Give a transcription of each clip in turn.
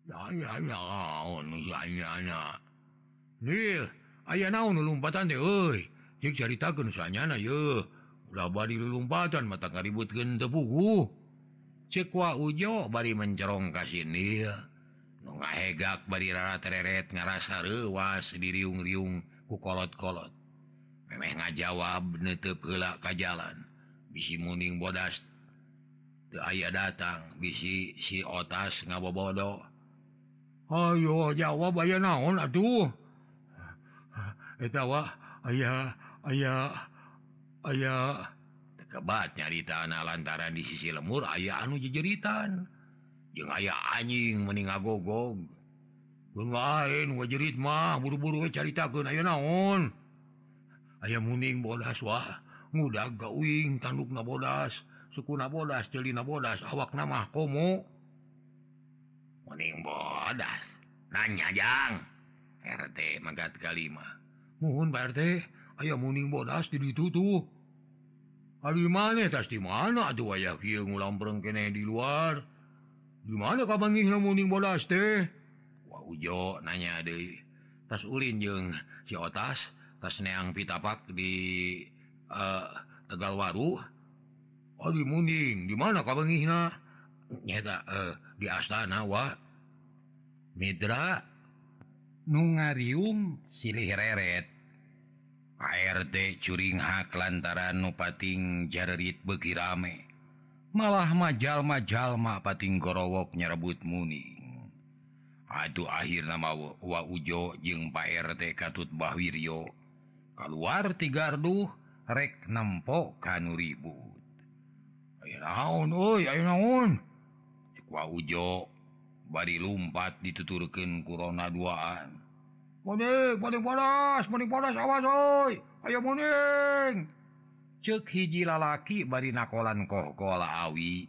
Ya naon sanyana. Nil, aya naon lulumpatan teh euy. Cek caritakeun sanyana ye. Ulah bari lulumpatan mata kaributkeun teu puguh. Cek Wa Ujo bari mencerong ka Nil. Nu ngahegak bari rarat-reret ngarasa reuwas diriung-riung ku kolot-kolot. Memeh ngajawab neuteub heula ka jalan. Bisi muning bodas teu aya datang, bisi si Otas ngabobodo. Ayo jawab aya naon atuh. Eta wah aya kebat nyaritana lantaran di sisi lemur aya anu jejeritan. Jeung aya anjing meni ngagogog. Mun lain ngajerit mah buru-buru we caritakeun aya naon. Aya muning bodas wah ngudag gauing tandukna bodas, sukuna bodas, ceulina bodas, awakna mah komo. Muning bodas nanya jang RT magat kalima. Muhun Pak RT, aya muning bodas di ditu tuh. Ari maneh tas di mana atuh aya kieu ngulampreng keneh di luar? Di mana kabangihna muning bodas teh? Wah Ujo nanya deui. Tas ulin jeung si Otas tas neang pitapak di Tegalwaru. Oh di muning, di mana kabangihna? Nyata di astana wa Midra nu ngariung silih reret. Pak RT curing hak lantaran nu pating jarerit beuki rame. Malah majal-jalma pating gorowok nyerebut muning. Atuh akhirna Wa Ujo jeung Pak RT Katut Bahwiryo kaluar ti garduh rek nempo kanu ribut. Aya naon euy, aya naon? Cek Wa Ujo bari lumpat dituturkeun ku rona duaan. Muning bodas awas oi. Aya muning. Ceuk hiji lalaki bari nakolan kohkola awi.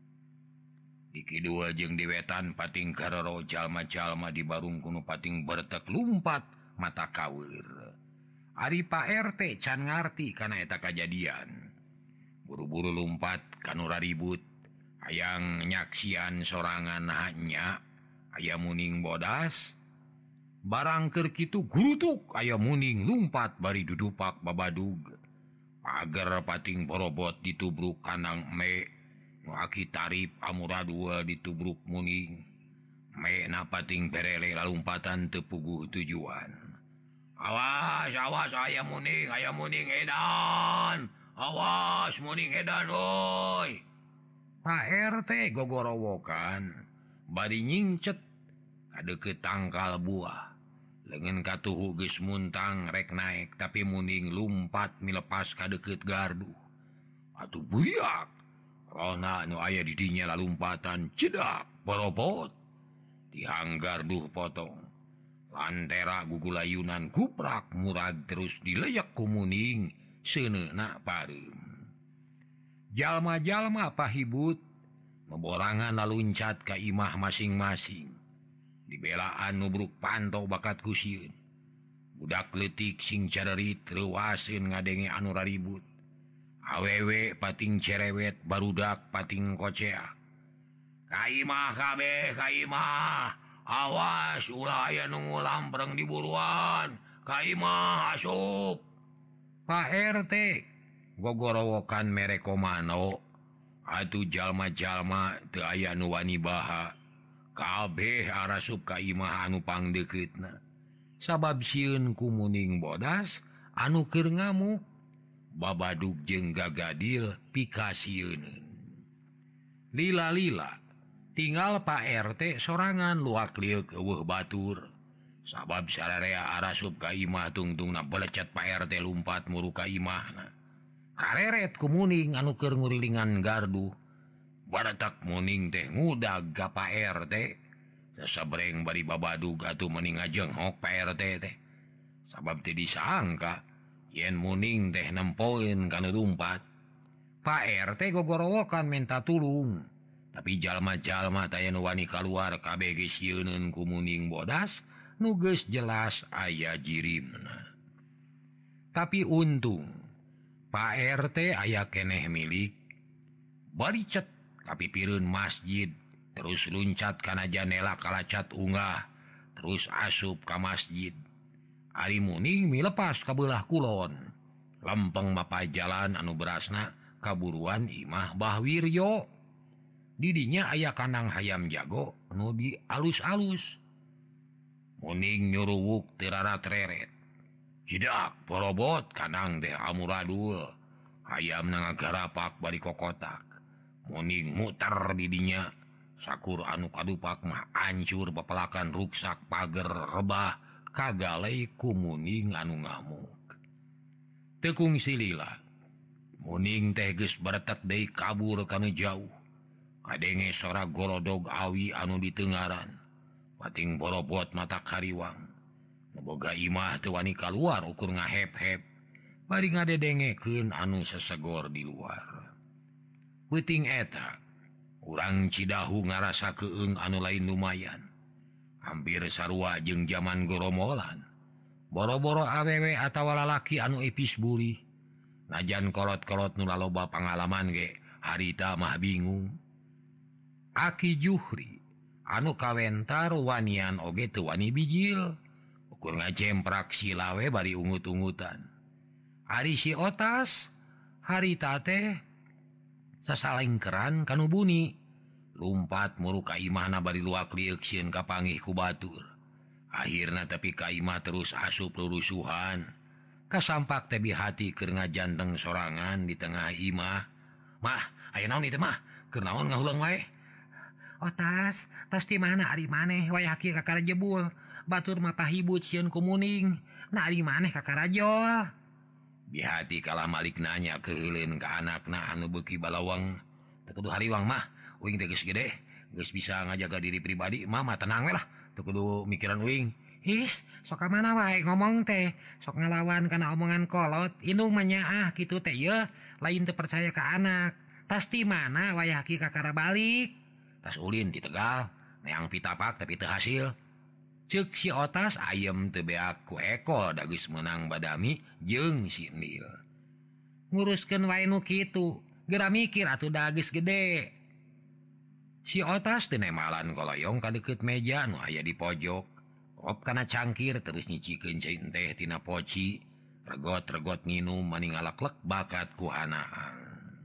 Di kidul jeung di wetan pating karero jalma-jalma di barung kuno pating bertek lumpat mata kaweur. Ari Pak RT can ngarti kana eta kajadian. Buru-buru lumpat kanu raribut. Hayang nyaksian sorangan hanya aya muning bodas. Barang keur kitu gurutuk aya muning lumpat bari dudupak babadug. Pager pating borobot ditubruk kandang me. Nu aki tarip amuradua ditubruk muning. Me na pating perele lalumpatan teu puguh tujuan. Awas aya muning edan. Awas muning edan oi. Pak RT gogorowokan bari nyingcet kadeukeut tangkal buah. Leungeun katuhu geus muntang rek naek tapi muning lumpat milepas kadeukeut gardu. Atuh buyak. Rona nu aya di dinya lalumpatan cedak borobot. Tihang garduh potong. Lantera gugulayunan kuprak murag terus dileyek ku muning seuneuna pareum. Jalma-jalma pahibut meborangan laluncat ka imah masing-masing. Dibelaan nubruk pantau bakat kusieun. Budak leutik sing carerit reuwaseun ngadenge anu raribut. Awewe pating cerewet barudak pating koceak. Ka imah kabeh, ka imah. Awas ulah aya nu ngulampreng di buruan. Ka imah asup. Pak RT gogorowokan mereko mano. Atuh jalma-jalma teu aya nu wani baha. Kabeh arasup ka imah anu pangdeuketna. Sabab sieun ku muning bodas anu keur ngamuk. Babadug jeung gagadil pikasieun. Lila-lila tinggal Pak RT sorangan luak liuk eueuh batur. Sabab sararea arasup ka imah tungtungna belecet Pak RT lumpat muru ka imahna. Kareret ku muning anu keur ngurilingan gardu. Baratak muning teh ngudag ka Pak RT. Sasabreng bari babadug atuh meni ngajenghok Pak RT teh. Sabab teu disangka yen muning teh nempoeun kana lumpat. Pak RT gogorowokan minta tulung. Tapi jalma-jalma taya nu wani kaluar kabeh geus sieunun ku muning bodas nu geus jelas aya jirimna. Tapi untung Pak RT aya keneh milik. Bari cet kapipireun masjid terus luncat kana janela kalacat unggah terus asup ka masjid. Ari Muning milepas ka belah kulon lempeng mapai jalan anu berasna kaburuan imah Bahwiryo. Didinya aya kandang hayam jago anu di alus-alus. Muning nyuruwuk tirarat reret. Jidak porobot kandang teh amuradul. Hayam ngagarapak bari kokotak. Muning muter didinya. Sakur anu kadupak mah ancur bepelakan ruksak pager rebah kagalai ku Muning anu ngamuk. Tekung silila. Muning teh geus baretek deui kabur kana jauh. Kadenge sora golodog awi anu ditengaran. Pating borobot mata kariwang. Boga imah teu wani kaluar ukur ngahep-hep. Bari ngadedengekeun anu sesegor di luar. Peuting eta, urang Cidahu ngarasa keung anu lain lumayan. Hampir sarua jeung zaman goromolan. Boro-boro awewe atawa lalaki anu epis buli. Najan kolot-kolot nu laloba pangalaman ge, harita mah bingung. Aki Juhri anu kawentar wanian oge teu wani bijil. Ukur ngajemprak silawe bari ungut-ungutan. Ari si Otas harita teh sasalengkeran kanu buni. Lumpat muru ka imahna bari luak liuk sieun kapanggih ku batur. Akhirna tapi ka imah terus asup rurusuhan. Kasampak teh bihati keur ngajanteng sorangan di tengah imah. Mah, aya naon ieu teh mah? Keur naon ngahulang wae? Otas, tas di mana ari maneh wayah kieu kakara jebul. Batur mah pahibut sieun ku Muning. Na ari maneh kakara jol. Bihati kalah malik nanya keheuleun ka anakna anu beuki balawang. Teu kudu hariwang mah, uing teh geus gede, geus bisa ngajaga diri pribadi, mah tenang we lah. Teu kudu mikiran uing. His, sok ka mana wae ngomong teh. Sok ngalawan kana omongan kolot. Indung mah nyaah kitu teh yeuh, lain teu percaya ka anak. Tas di mana wayah kieu kakara balik? Tas ulin di Tegal, neang pitapak tapi teu hasil. Ceuk si Otas ayem teu beak ku Eko da geus meunang badami jeung si Nil. Nguruskeun wae nu kitu, geura mikir atuh da geus gede. Si Otas teu nemalan koloyong ka deukeut meja nu aya di pojok. Op kana cangkir terus nyicikeun cai teh tina poci, regot-regot nginum maning ngalaklek bakat ku hanaang.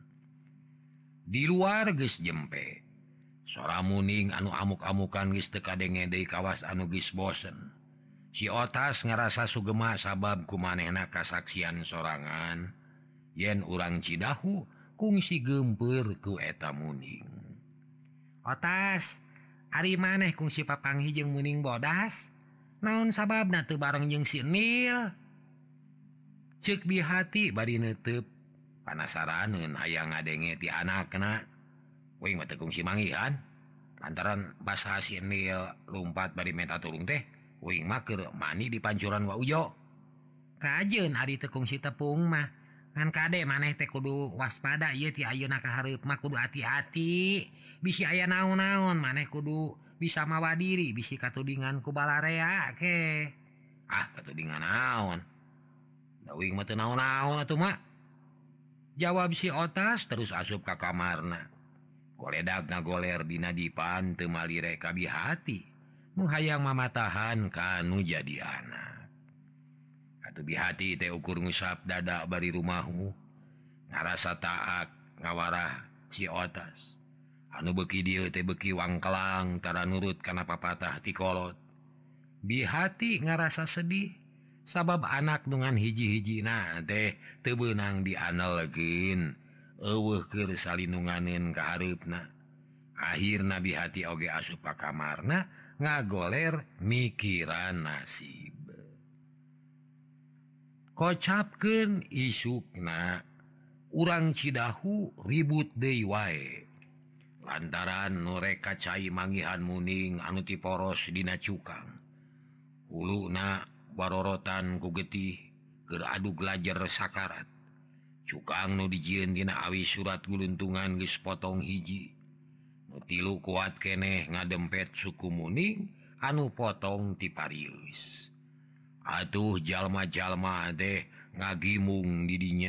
Di luar geus jempe. Sora Muning anu amuk-amukan geus teu kadenge deui kawas anu geus bosen. Si Otas ngarasa sugema sabab kumanehna kasaksian sorangan yen urang Cidahu kungsi geumpeur ku eta Muning. Otas, ari maneh kungsi papanggih jeung Muning bodas? Naon sababna teu bareng jeung si Nil? Ceuk bihati bari neuteub panasaraneun hayang ngadenge ti anakna. Uing mah teu kungsi manggihan. Lantaran basa si Nil lumpat bari menta tulung teh, uing mah keur mani di pancuran wa Ujo. Kajeun ari teu kungsi tepung mah. Ngan kade maneh teh kudu waspada ieu ti ayeuna ka hareup mah kudu hati-hati. Bisi aya naon-naon maneh kudu bisa mawa diri bisi katudingan ku balarea ke. Ah, katudingan naon? Da uing mah teu naon-naon atuh mah. Jawab si Otas terus asup ka kamarna. Koledak ngagoler dina dipan teu malire ka bihati. Nu hayang mamatahan kanu jadi anak. Atuh bihati teh ukur ngusap dada bari rumahu. Ngarasa taak ngawarah si Otas. Anu beuki dieu teh beuki wangkelang tara nurut kana papatah ti kolot. Bihati ngarasa sedih sabab anak dengan hiji-hijina teh teu beunang dianelkeun. Eueuh keur salinunganeun ka hareupna. Akhirna bihati oge asup ka kamarna ngagoler mikiran nasib. Kocapkeun isukna urang Cidahu ribut deui wae. Lantaran nu rek kacai manggihan Muning anu ti poros dina cukang. Huluna barorotan ku getih keur adu glajer sakarat. Cukang nu dijieun tina awi surat guluntungan geus potong hiji. Nu tilu kuat keneh ngadempet suku Muning anu potong ti Parius. Atuh jalma-jalma teh ngagimung di dinya.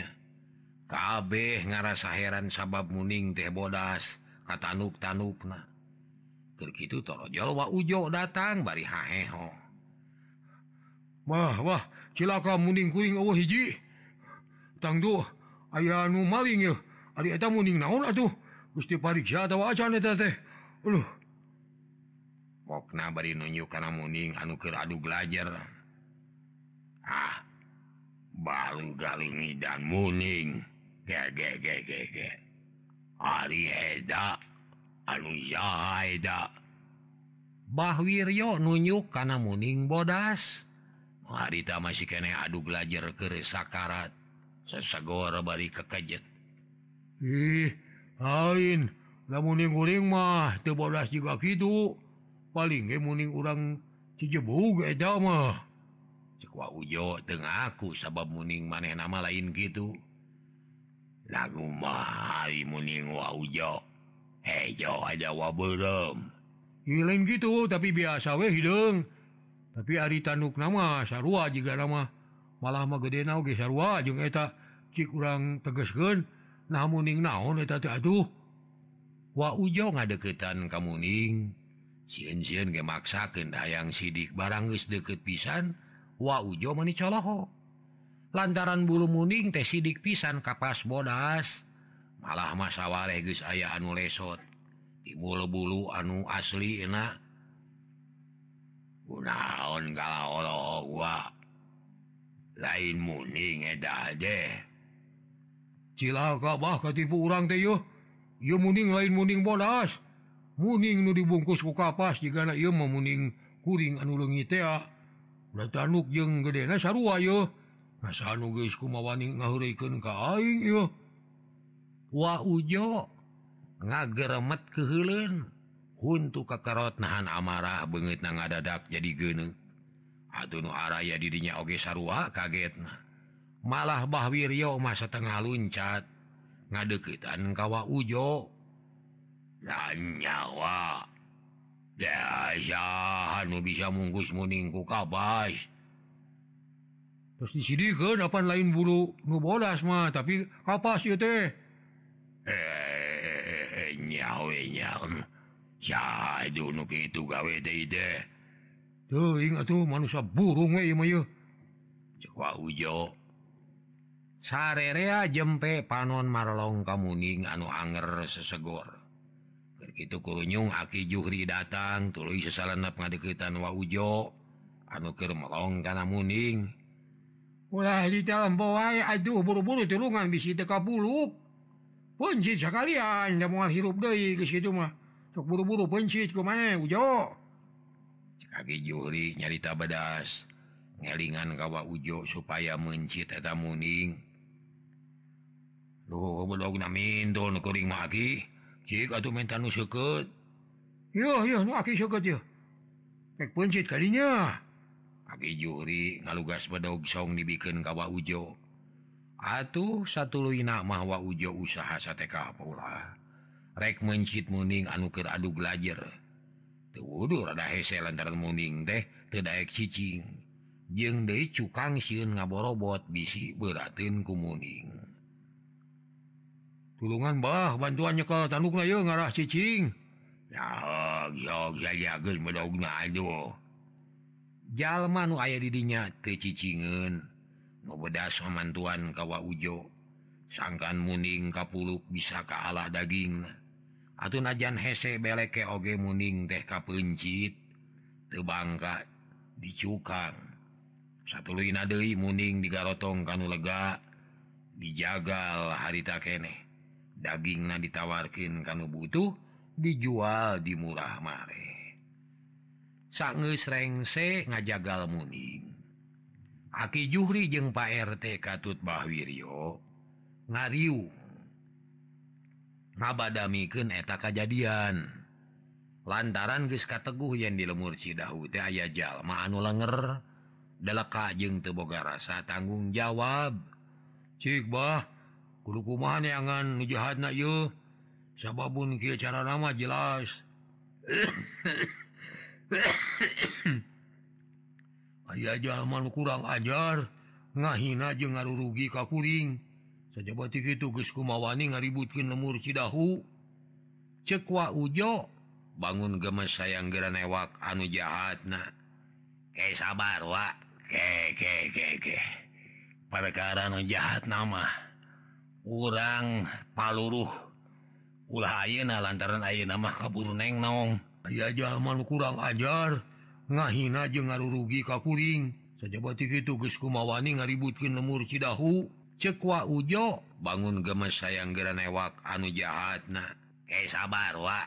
Kabeh ngarasa heran sabab Muning teh bodas katanuk-tanukna. Keur kitu torojol Wa Ujo datang bari haheho. Wah, cilaka muning kuring eueuh hiji. Tangtu aya anu maling ya. Ari eta muning naon atuh? Gusti pariksa atawa acan eta teh. Aduh. Pokna bari nunjuk kana muning anu keur adu glajer. Balu galungi dan muning. Ge. Ari eda anu jaha eda. Bah Wiryo nunjuk kana muning bodas. Harita masih kene adu glajer keur sakarat. Sesegor bari kekejet. Lain. Lamun muning mah teu bodas juga kitu. Paling ge muning urang Cijebuug eta mah. Cek Wa Ujo teu ngaku sabab muning manehna mah lain kitu. Lagu mah ari muning Wa Ujo. Hejo aja wa beureum. Lain gitu tapi biasa we hideung. Tapi ari tandukna mah sarua jiga nama. Malah mah gedena oge sarua jeung eta cik urang tegeskeun. Nah muning naon eta teh atuh. Wa Ujo ngadeukeutan ka muning. Sieun-sieun ge maksakeun hayang sidik barang geus deukeut pisan. Wa Ujo mani coloho. Lantaran bulu muning teh sidik pisan kapas bodas. Malah mah sawareh geus aya anu lesot. Di bulu-bulu anu asli enak. Kunaon kalaolo wa. Lain muning eta deh. Cilaka bah katipu urang teh yeuh. Ieu muning lain muning bodas. Muning nu dibungkus ku kapas jigana ieu mah muning kuring anu leungit teh. Ulah tanduk jeung gedena sarua yeuh. Asa anu geus kumawani ngaheureukeun ka aing ieu. Wa Ujo ngageremet keheuleun. Huntu kakarot nahan amarah beungeutna ngadadak jadi geuneuk. Atuh nu araya didinya oge sarua kagetna. Malah Bah Wiryo mah satengah luncat ngadeukeutan ka Wa Ujo. Nyawa. Daya anu bisa mungkus muning ku kapas. Terus disidikeun apan lain bulu nu bodas mah tapi kapas ieu teh. Nyawe. Saedu nu kitu gawe teh teh. Teuing atuh manusia burung we ieu mah yeuh. Cek Wa Ujo. Sarerea jempe panon marlong ka muning anu anger sesegor. Keur kitu kurunyung Aki Juhri datang tuluy sasalenep ngadeukeutan Wa Ujo anu keur melong kana muning. Ulah di dalam wae aduh buru-buru tulungan bisi teu kabuluk. Pencit sakalian da moal hirup deui geus kitu mah. Sok buru-buru pencit ku maneh Ujo. Cek Aki Juhri nyarita bedas. Ngelingan ka Wa Ujo supaya mencit eta muning. Duh bedogna mintul nu kuring mah Aki. Cik atuh menta nu seukeut. Yeuh nu Aki seukeut yeuh. Pek pencit ka dinya. Aki Juhri ngalugas bedog song dibikeun ka Wa Ujo. Atuh satuluyna mah Wa Ujo usaha sateka pula. Rek mencit muning anu keur adu glajer. Teu wudu rada hese lantaran muning teh teu daek cicing. Jeung deui cukang sieun ngaborobot bisi beurateun ku muning. Tulungan bah bantuan nyekel tandukna yeuh ngarah cicing. Yok saja geus bedogna aduh. Jalma nu aya di dinya Teu cicingeun. Nu bedas mamantuan ka Wa Ujo. Sangkan muning kapuluk bisa kaalah dagingna. Atuh najan hese beleke oge muning teh kapencit. Teu bangka dicukang. Satuluyna deui muning digarotong kanu lega. Dijagal harita keneh. Dagingna ditawarkeun kanu butuh. Dijual di murah mare. Sageus rengse ngajagal muning. Aki Juhri jeung Pak RT Katut Bah Wiryo ngariung ngabadamikeun eta kajadian. Lantaran geus kateguh yen di lemur Cidahu teh aya jalma anu lenger, deleka jeung teu boga rasa tanggung jawab. Cik bah, kudu kumaha neangan nu jahatna ieu. Sababun kieu carana mah jelas. Aya jalma nu kurang ajar, ngahina jeung ngarurugi ka kuring. Sajaba ti kitu geus kumawani ngaributkeun lemur Cidahu. Cek Wa Ujo bangun gemes sayang gera newak anu jahat na sabar wa perkara anu jahat nama urang paluruh ulah ayeuna lantaran ayeuna mah kabur neng naong aya jalma nu kurang ajar ngahina jeung ngarurugi ka kuring sajabati kitu geus kumawani ngaributkeun lemur Cidahu ceuk wa Ujo bangun gemes sayang gera newak anu jahat na sabar wa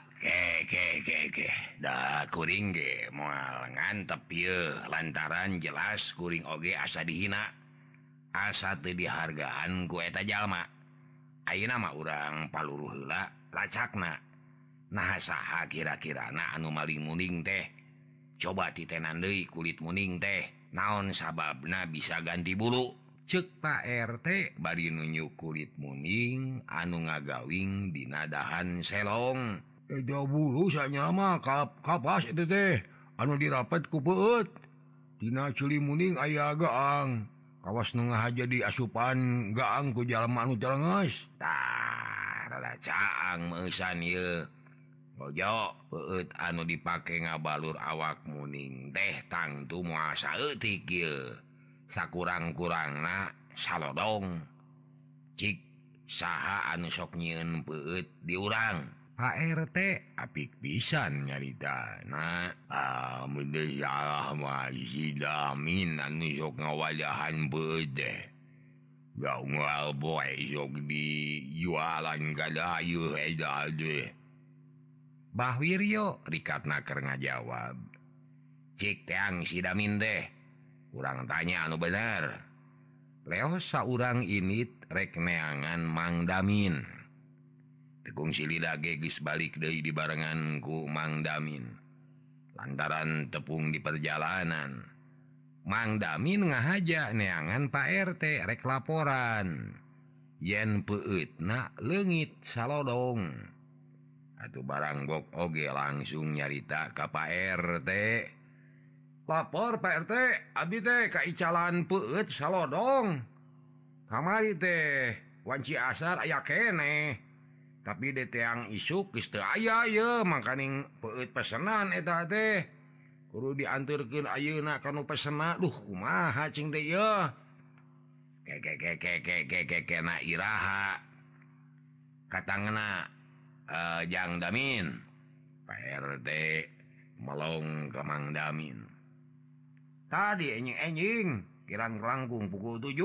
da kuring ge moal ngantep ieu lantaran jelas kuring oge asa dihina asa teu dihargaan ku eta jalma ayeuna mah urang paluruh heula lacakna nah saha kira-kirana anu maling muning teh coba titenan deui kulit muning teh naon sababna bisa ganti bulu ceuk Pak RT bari nunjuk kulit muning anu ngagawing dina dahan selong Eja bulu sanya mah kapas itu teh anu dirapet ku peut dina culi muning aya gaang kawas nu ngahaja di asupan gaang ku jalma anu telenges tah rada caang meusan ieu Ojo peut anu dipake ngabalur awak muning teh tangtu moal saeutik ieu sakurang-kurangna salodong cik saha anu sok nyieun peut di urang Pak RT apik pisan nyaritana mun deui salah mah si Damin anu sok ngawadahan beut teh gaunggal boy sok dijualan ka dayu eta teh Bah Wiryo rikatna keur ngajawab cik teang si Damin teh urang tanya anu bener leos saurang init rek neangan Mang Damin tekung silida ge geus balik deui dibarengan ku Mang Damin lantaran tepung di perjalanan Mang Damin ngahaja neangan Pak RT rek laporan yen peutna leungit salodong atuh barang gok oge langsung nyarita ka Pak RT lapor Pak RT abdi teh kaicalan peut salodong kamari teh wanci asar aya keneh tapi de teang isuk geus teu aya ye mangkaning peut pesenan eta teh kudu dianturkeun ayeuna ka nu pesenna duh kumaha cing teh ye kena iraha katangna Jang Damin Pak RT melong ke Mang Damin tadi enjing kirang kerangkung pukul 7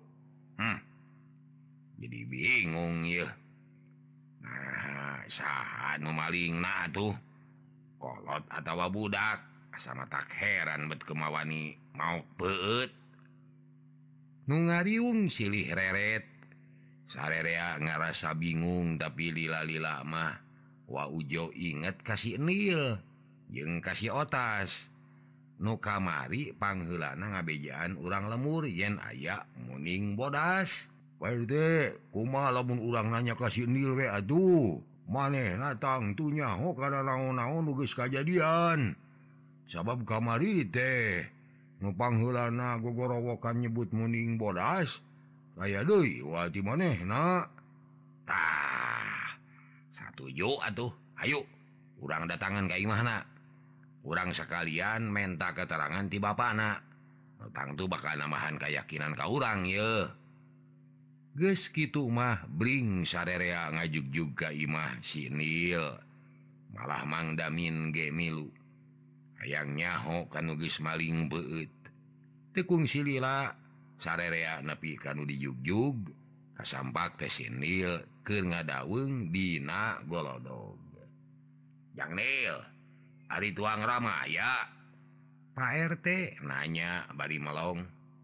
jadi bingung ya nah saha nu malingna tuh kolot atawa budak sama tak heran bet kemawani mau peut nu ngariung silih reret sarerea ngarasa bingung tapi lila-lila mah wa Ujo inget kasih Nil jeung kasih Otas nu kamari pangheulana ngabejaan urang lemur yen aya muning bodas Pak RT kumaha lamun urang nanya kasih Nil we atuh manehna tangtu nyaho kana naon-naon nu geus kajadian sabab kamari teh nu pangheulana gogorowokan nyebut muning bodas aya deui wati manehna tah satuju atuh ayo urang datangan ka imahna urang sekalian menta keterangan ti bapana tangtu bakal namahan keyakinan ka urang ye geus kitu mah bring sarerea ngajugjug ka imah si Nil malah Mang Damin ge milu hayang nyaho kanu geus maling beut tekung silila sarerea nepi kanu dijugjug kasampak teh si Nil keur ngadaweung dina golodog Jang Nil ari tuang rama ya Pak RT nanya bari melong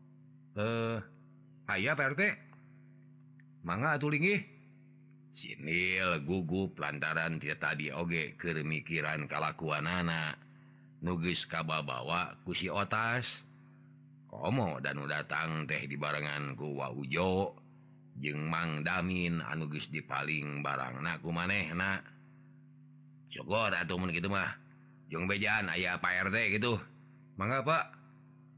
aya Pak RT mangga atuh linggih si Nil gugup lantaran dia tadi oge keur mikiran kalakuanana nu geus kababawa ku si Otas komo dan datang teh dibarengan ku Wa Ujo jeung Mang Damin anu geus dipaling barangna ku manehna syukur atuh mun kitu mah jeung bejaan aya Pak RT gitu mangga Pak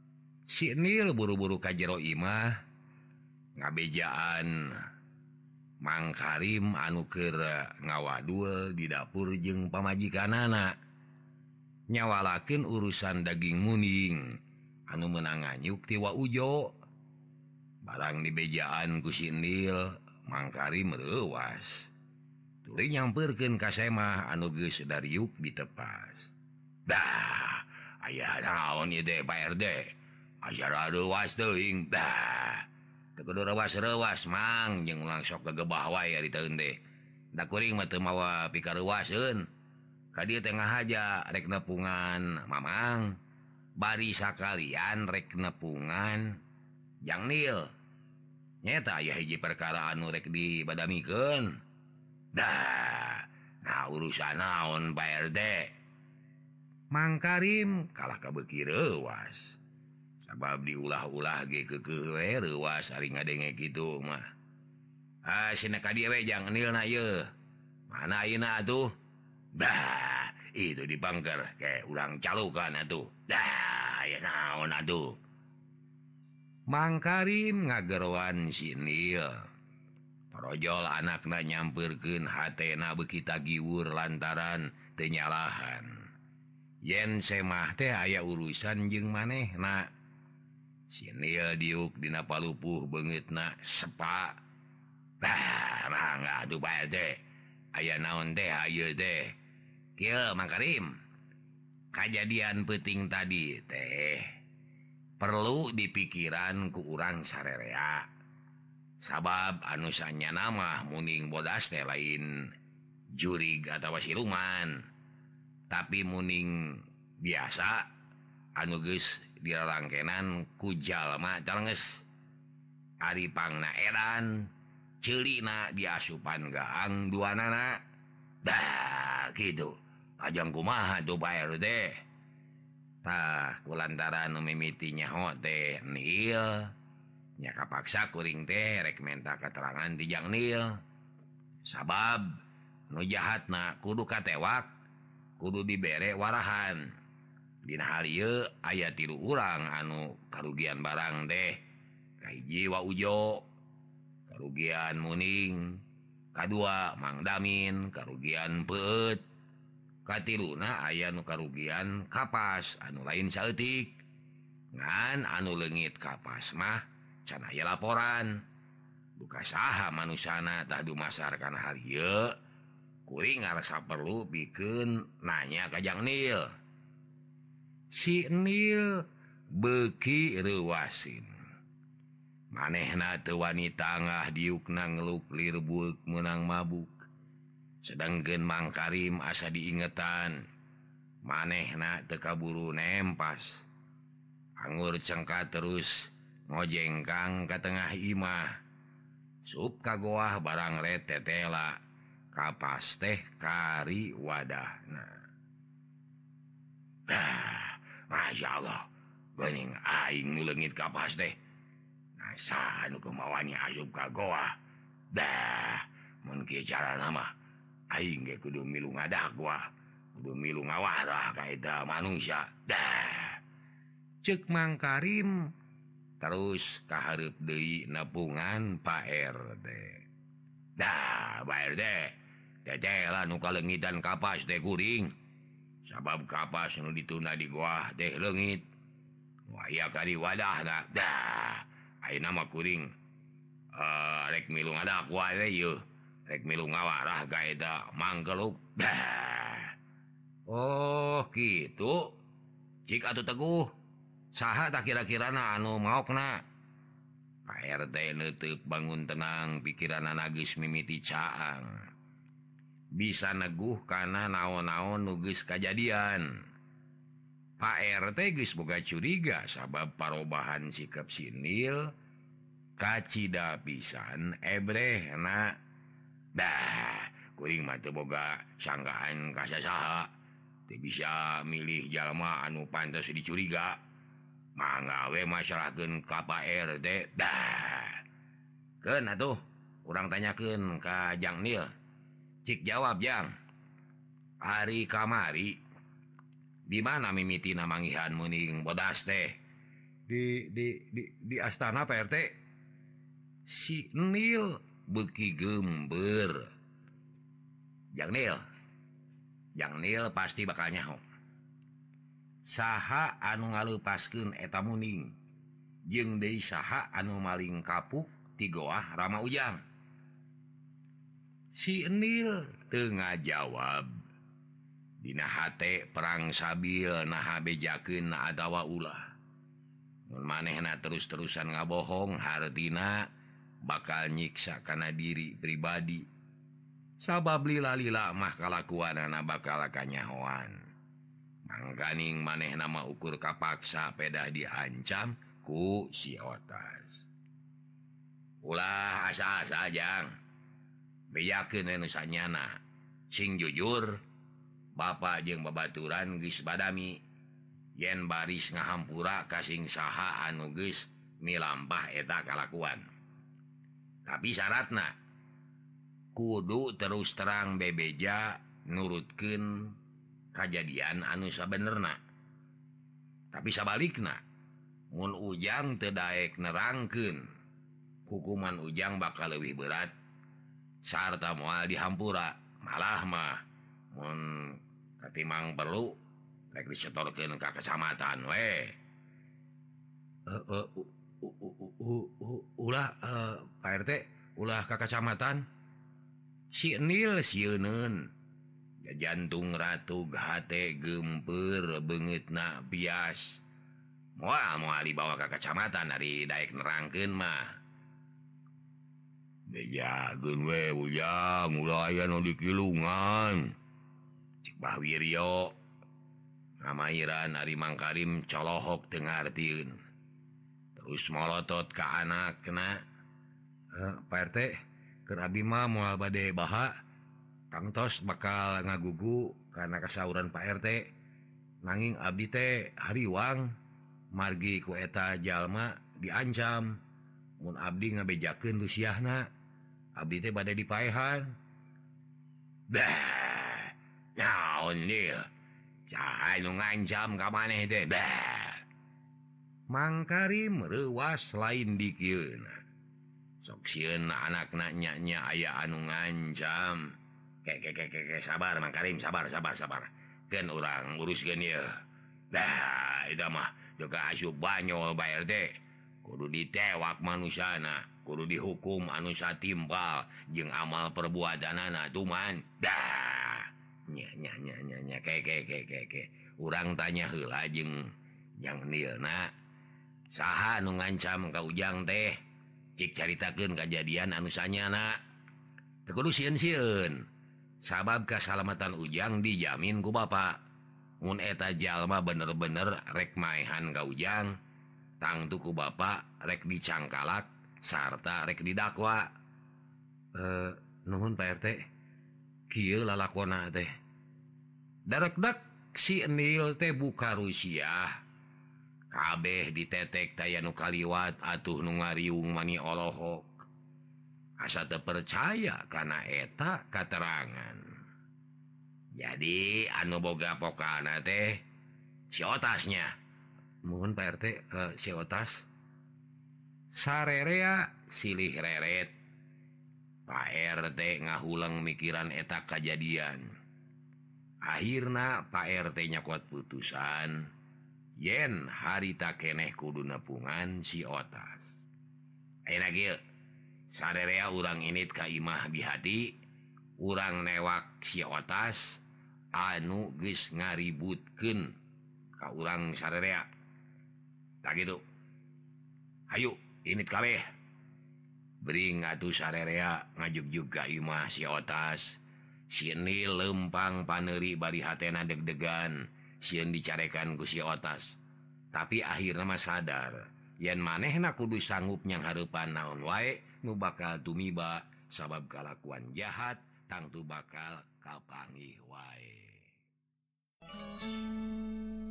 si Nil buru-buru ka jero imah ngabejaan Mangkarim anuker ngawadul di dapur jeung pamajikan anak nyawalaken urusan daging muning anu menang nganyuk ti Wa Ujo barang di bejaan ku Sindil Mangkarim reuwas tuluy nyamperkeun ka Semah anu geus dariuk ditepas. Dah aya naon ieu teh Pak RT acara reuwas teuing dah teu kudu reuwas-reuwas mang jeung ulang sok gegebah wae ari teuing teh da kuring mah teu mawa pikareuwaseun ka dieu teh ngahaja rek nepungan mamang bari sakalian rek nepungan Jang Nil nyata aya hiji perkara anu rek dibadamikeun. Dah nah urusan naon Pak RT Mangkarim kalah kabeuki reuwas sabab diulah-ulah ge keukeuh we reuwas ari ngadenge kitu mah. Cenah ka dieu we Jang Nil na ieu mana ayeuna atuh. Dah itu dipangker ke urang calukan atuh. Dah aya naon atuh. Mangkarim ngagerowan si Nil parojol anakna nyamperkeun hatena beuki tagiwur lantaran teu nyalahan yen Semah teh aya urusan jeung manehna. Si Nil diuk dina palupuh beungeutna sepa. Mangga atuh Pak RT aya naon teh ayeuna teh kieu Mangkarim kajadian peuting tadi teh perlu dipikiran ku urang sarerea sabab anu sanyana mah muning bodas teh lain jurig atawa siluman tapi muning biasa anu geus dirarangkenan ku jalma calenges ari pangna edan ceulina diasupan gaang duanana. Dah kitu ajang kumaha tuh Pak RT tah kulantaran nu mimiti nyaho teh Nil nya kapaksa kuring teh rek menta keterangan di Jang Nil sabab nu jahatna kudu katewak kudu dibere warahan. Dina hal ieu aya 3 urang anu karugian barang teh kahiji Wa Ujo karugian muning kadua Mang Damin karugian Peut katiluna aya nu karugian Kapas anu lain saeutik ngan anu leungit Kapas mah can aya laporan duka saha manusana tah dumasar kana hal ieu kuring ngarasa perlu pikeun nanya ka Jang Nil. Si Nil beuki reuwasin manehna teu wani tangah diukna ngeluk lirbeuk meunang mabuk sedangkeun Mangkarim asa diingetan manehna teu kaburu nempas anggur cengkat terus ngojengkang ka tengah imah sup kagoah barang retetela Kapas teh kari wadahna. Masya Allah geuning aing nu leungit Kapas teh saha nu kemawani asup ka goa. Dah mun kieu carana mah aing ge kudu milu ngadakwa kudu milu ngawarah ka eta manusia. Dah ceuk Mangkarim terus kahareup deui nepungan Pak RT. Dah Pak RT tetela nu kaleungitan Kapas teh kuring sabab Kapas nu dituna di goa teh leungit waya kari wadahna. Dah ayeuna mah kuring rek milu ngadakwa we ieu rek milu ngawarah ka eta mangkeluk. Dah oh kitu cik atuh Teguh saha tah kira-kirana anu maokna. Pak RT neuteuk bangun tenang pikiranna geus mimiti caang bisa neguh kana naon-naon nu geus kajadian. Pak RT geus boga curiga sabab parobahan sikap si Nil kacida pisan ebrehna. Dah kuring mah teu boga sangkaan ka saha teu bisa milih jalma anu pantes dicuriga mangga we masalahkeun ka Pak RT. Dah keun atuh urang tanyakeun ka Jang Nil. Cik jawab Jang hari kamari di mana mimitina manggihan muning bodas teh? Di astana Pak RT. Si Nil beki gember Jang Nil pasti bakal nyaho saha anu ngalupaskeun eta muning jeung deui saha anu maling kapuk ti goah Rama Ujang. Si Nil teu ngajawab. Dina hate perang sabil naha bejakeun adawa ulah. Mun manehna terus-terusan ngabohong hartina bakal nyiksa kana diri pribadi. Sabab lila-lila mah kalakuanana bakal kanyahoan. Mangkaning manehna mah ukur kapaksa pedah diancam ku si Otas. Ulah asa-asa Jang. Bejakeun anu sanyana. Sing jujur, Bapa jeung babaturan geus badami. Yen baris ngahampura ka sing saha anu geus milampah eta kalakuan. Tapi syaratna kudu terus terang bebeja nurutkeun kajadian anu sabenerna. Tapi sabalikna, mun Ujang teu daek nerangkeun, hukuman Ujang bakal leuwih berat sarta moal dihampura. Malah mah mun katimang perlu rek disetorkeun ka kecamatan we. Ulah Pak RT, ulah ka kecamatan. Si Nil sieuneun. Jantung ratu hate gempeur beungeutna bias. Moal dibawa ka kecamatan dari daek nerangkeun mah. Bejakeun we Ujang, ulah aya nu dikilungan. Cik Bah Wiryo ngamairan Ari Mangkarim colohok teu ngartieun. Terus molotot ka anakna. Pak RT, keur abi mah moal bade baha. Kang Tos bakal ngagugu karena kasauran Pak RT. Nanging abdi teh hariwang margi ku eta jalma diancam. Mun abdi ngabejakeun lusiahna, abdi teh bade dipaehan. Bah, naon ieu? Saha nu ngancam ka maneh teh? Bah. Mangkarim reuwas lain dikieun. Sok sieun anakna nya aya anu ngancam. Ke sabar Mangkarim, sabar. Keun urang uruskeun ieu. Dah, eta mah juga asup banyol Pak RT. Kudu ditewak manusana, kudu dihukum anu satimpal jeung amal perbuatanana tuman. Dah. Nya ke. Urang tanya heula jeung Jang Nilna. Saha anu ngancam ka Ujang teh? Cik caritakeun kajadian anu sanyana. Teu kudu sieun-sieun. Sabab kasalamatan Ujang dijamin ku Bapa. Mun eta jalma bener-bener rek maehan ka Ujang, tangtu ku Bapa rek dicangkalak sarta rek didakwa. Nuhun Pak RT. Kieu lalakona teh. Darekdak si Nil teh buka Rusia. Kabeh ditetek taya nu kaliwat atuh nu ngariung mani olohok. Asa teu percaya kana eta katerangan. Jadi anu boga pokana teh si Otasnya. Mohon Pak RT, si Otas. Sarerea silih reret. Pak RT ngahuleng mikiran eta kajadian. Akhirna Pak RT nyakot putusan yen harita keneh kudu nepungan si Otas. Ayeuna kieu. Sarerea urang init ka imah bihati, urang newak si Otas anu geus ngaributkeun ka urang sarerea. Tak gitu. Hayu, init kabeh. Bering atuh sarerea ngajugjug ka imah si Otas. Si Nil lempang paneuri bari hatena deg-degan sieun dicarekan ku si Otas. Tapi akhirna mah sadar yen manehna kudu sanggup nyang hareupan naon wae nu bakal tumiba sabab kalakuan jahat tangtu bakal kapanggih wae.